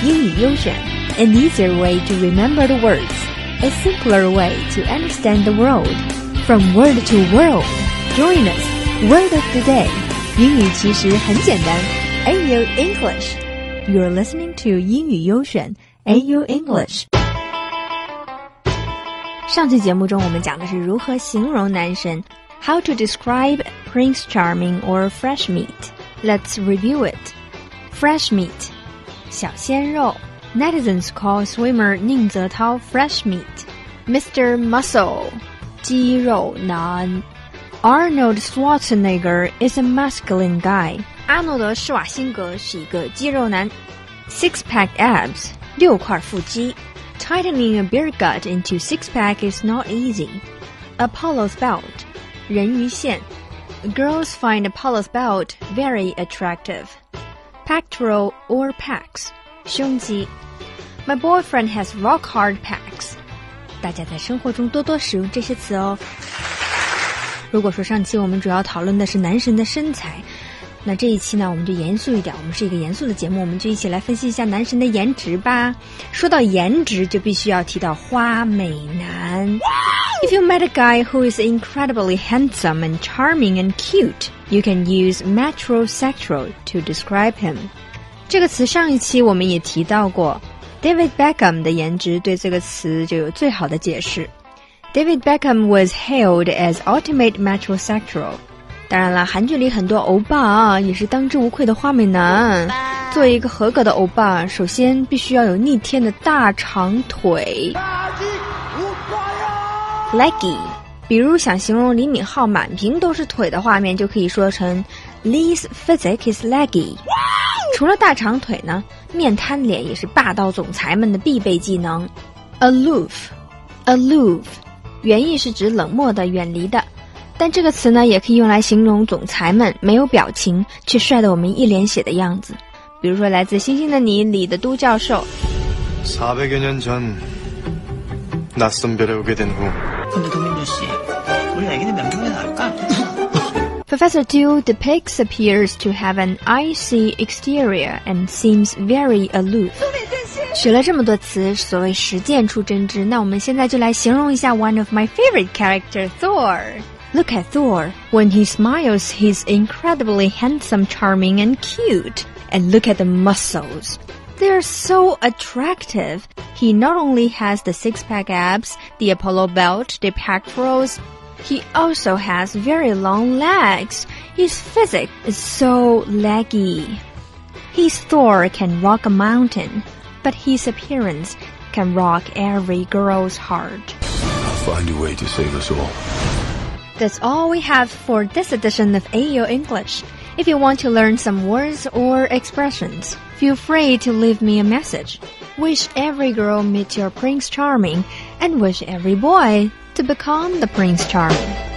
英语优选 An easier way to remember the words, a simpler way to understand the world. From word to world, join us. Word of the day. 英语其实很简单 AU English. You're listening to 英语优选 AU English. 上期节目中我们讲的是如何形容男神 How to describe Prince Charming or fresh meat. Let's review it. Fresh meat. 小鲜肉 Netizens call swimmer 宁泽涛 fresh meat. Mr. Muscle. 肌肉男 Arnold Schwarzenegger is a masculine guy. 阿诺德·施瓦辛格是一个肌肉男 Six-pack abs. 6块腹肌 Tightening a beer gut into six-pack is not easy. Apollo's belt. 人鱼线 Girls find Apollo's belt very attractive. Pectoral or pecs. 胸肌 My boyfriend has rock-hard pecs. 大家在生活中多多使用这些词哦。如果说上期我们主要讨论的是男神的身材，那这一期呢我们就严肃一点，我们是一个严肃的节目，我们就一起来分析一下男神的颜值吧。说到颜值就必须要提到花美男。If you met a guy who is incredibly handsome and charming and cute, you can use metrosexual to describe him. 这个词上一期我们也提到过 David Beckham 的颜值对这个词就有最好的解释。David Beckham was hailed as ultimate metrosexual. 当然了，韩剧里很多欧巴啊，也是当之无愧的花美男。作为一个合格的欧巴，首先必须要有逆天的大长腿。Leggy， 比如想形容李敏镐满屏都是腿的画面，就可以说成 Lee's physique is leggy。除了大长腿呢，面瘫脸也是霸道总裁们的必备技能。Aloof， 原意是指冷漠的、远离的，但这个词呢，也可以用来形容总裁们没有表情却帅得我们一脸血的样子。比如说来自《星星的你》里的都教授。 400여 년 전 낯선 별에 오게 된 후. 근데 도민주 씨, 우리 애기는 몇 명이나 나올까? Professor Du depicts appears to have an icy exterior and seems very aloof. 学了这么多词，所谓实践出真知，那我们现在就来形容一下 one of my favorite character, Thor. Look at Thor. When he smiles, he's incredibly handsome, charming, and cute. And look at the muscles. They're so attractive. He not only has the six-pack abs, the Apollo belt, the pectorals, he also has very long legs. His physique is so leggy. His Thor can rock a mountain, but his appearance can rock every girl's heart. I'll find a way to save us all. That's all we have for this edition of AO English. If you want to learn some words or expressions, feel free to leave me a message. Wish every girl meet your Prince Charming, and wish every boy to become the Prince Charming.